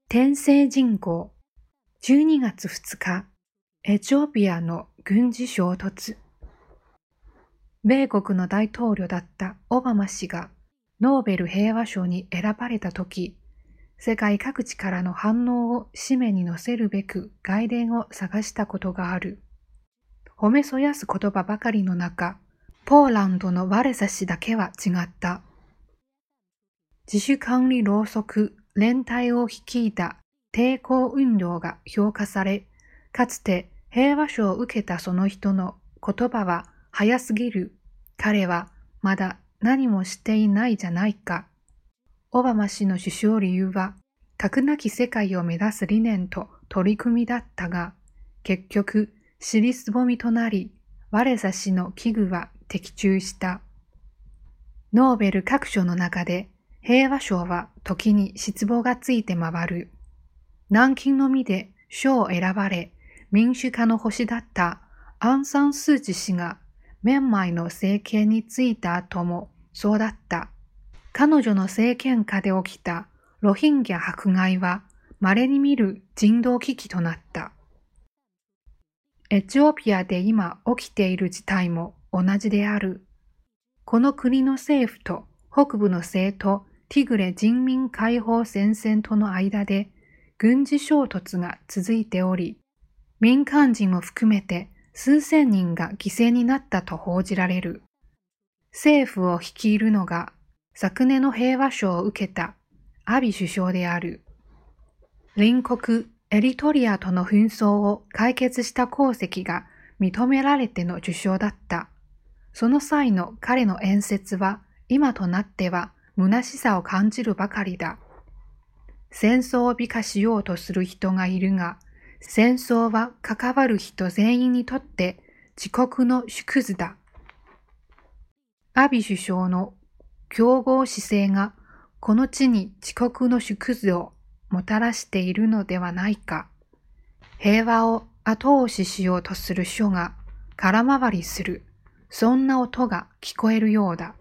天聖人口12月2日、エチオピアの軍事衝突。米国の大統領だったオバマ氏がノーベル平和賞に選ばれたとき、世界各地からの反応を紙面に載せるべく外伝を探したことがある。褒めそやす言葉ばかりの中、ポーランドのワレサ氏だけは違った。自主管理ろうそく連隊を率いた抵抗運動が評価され、かつて平和賞を受けたその人の言葉は早すぎる。彼はまだ何もしていないじゃないか。オバマ氏の首相理由は、核なき世界を目指す理念と取り組みだったが、結局、尻すぼみとなり、ワレサ氏の危惧は的中した。ノーベル各賞の中で、平和賞は時に失望がついて回る。南京のみで賞を選ばれ、民主化の星だったアン・サン・スー・チー氏が、メンマイの政権に就いた後もそうだった。彼女の政権下で起きたロヒンギャ迫害は稀に見る人道危機となった。エチオピアで今起きている事態も同じである。この国の政府と北部の政党ティグレ人民解放戦線との間で軍事衝突が続いており、民間人も含めて数千人が犠牲になったと報じられる。政府を率いるのが昨年の平和賞を受けたアビ首相である。隣国エリトリアとの紛争を解決した功績が認められての受賞だった。その際の彼の演説は今となっては虚しさを感じるばかりだ。戦争を美化しようとする人がいるが、戦争は関わる人全員にとって自国の縮図だ。アビ首相の強豪姿勢がこの地に自国の縮図をもたらしているのではないか。平和を後押ししようとする書が空回りする。そんな音が聞こえるようだ。